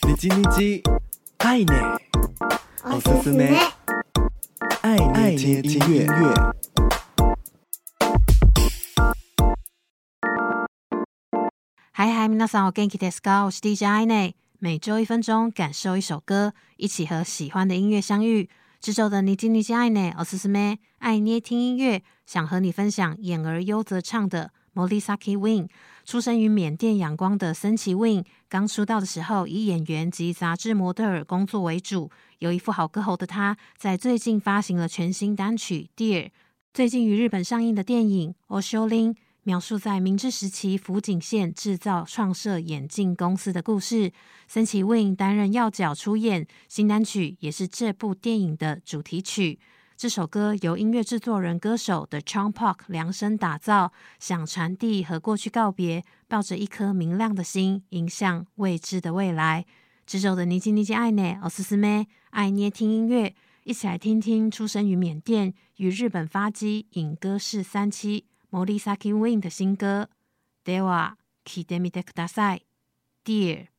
你嘰你嘰，愛呢，おすすめ，愛捏聽音樂。 嗨，皆さんお元気ですか？我是 DJ 愛呢，每周1分鐘，感受一首歌，一起和喜歡的音樂相遇。這週的你嘰你嘰愛呢，おすすめ，愛捏聽音樂，想和你分享演而優則唱的 Morisaki Wing。出生於緬甸仰光的森崎 Wing， 剛出道的時候以演員及雜誌模特兒工作為主，有一副好歌喉的他，在最近發行了全新單曲 Dear。 最近於日本上映的電影 Oshoulin， 描述在明治時期福井縣製造創設眼鏡公司的故事，森崎 Wing 擔任要角出演，新單曲也是這部電影的主題曲。這首歌由音樂製作人歌手的 Chong Park 量身打造，想傳遞和過去告別，抱着一顆明亮的心，迎向未知的未來。這週的你嘰你嘰愛呢，おすすめ，愛捏聽音樂，一起來聽聽出生於緬甸與日本發跡影歌室三棲 Morisaki Wing 的新歌。では聴いてみてください。Dear。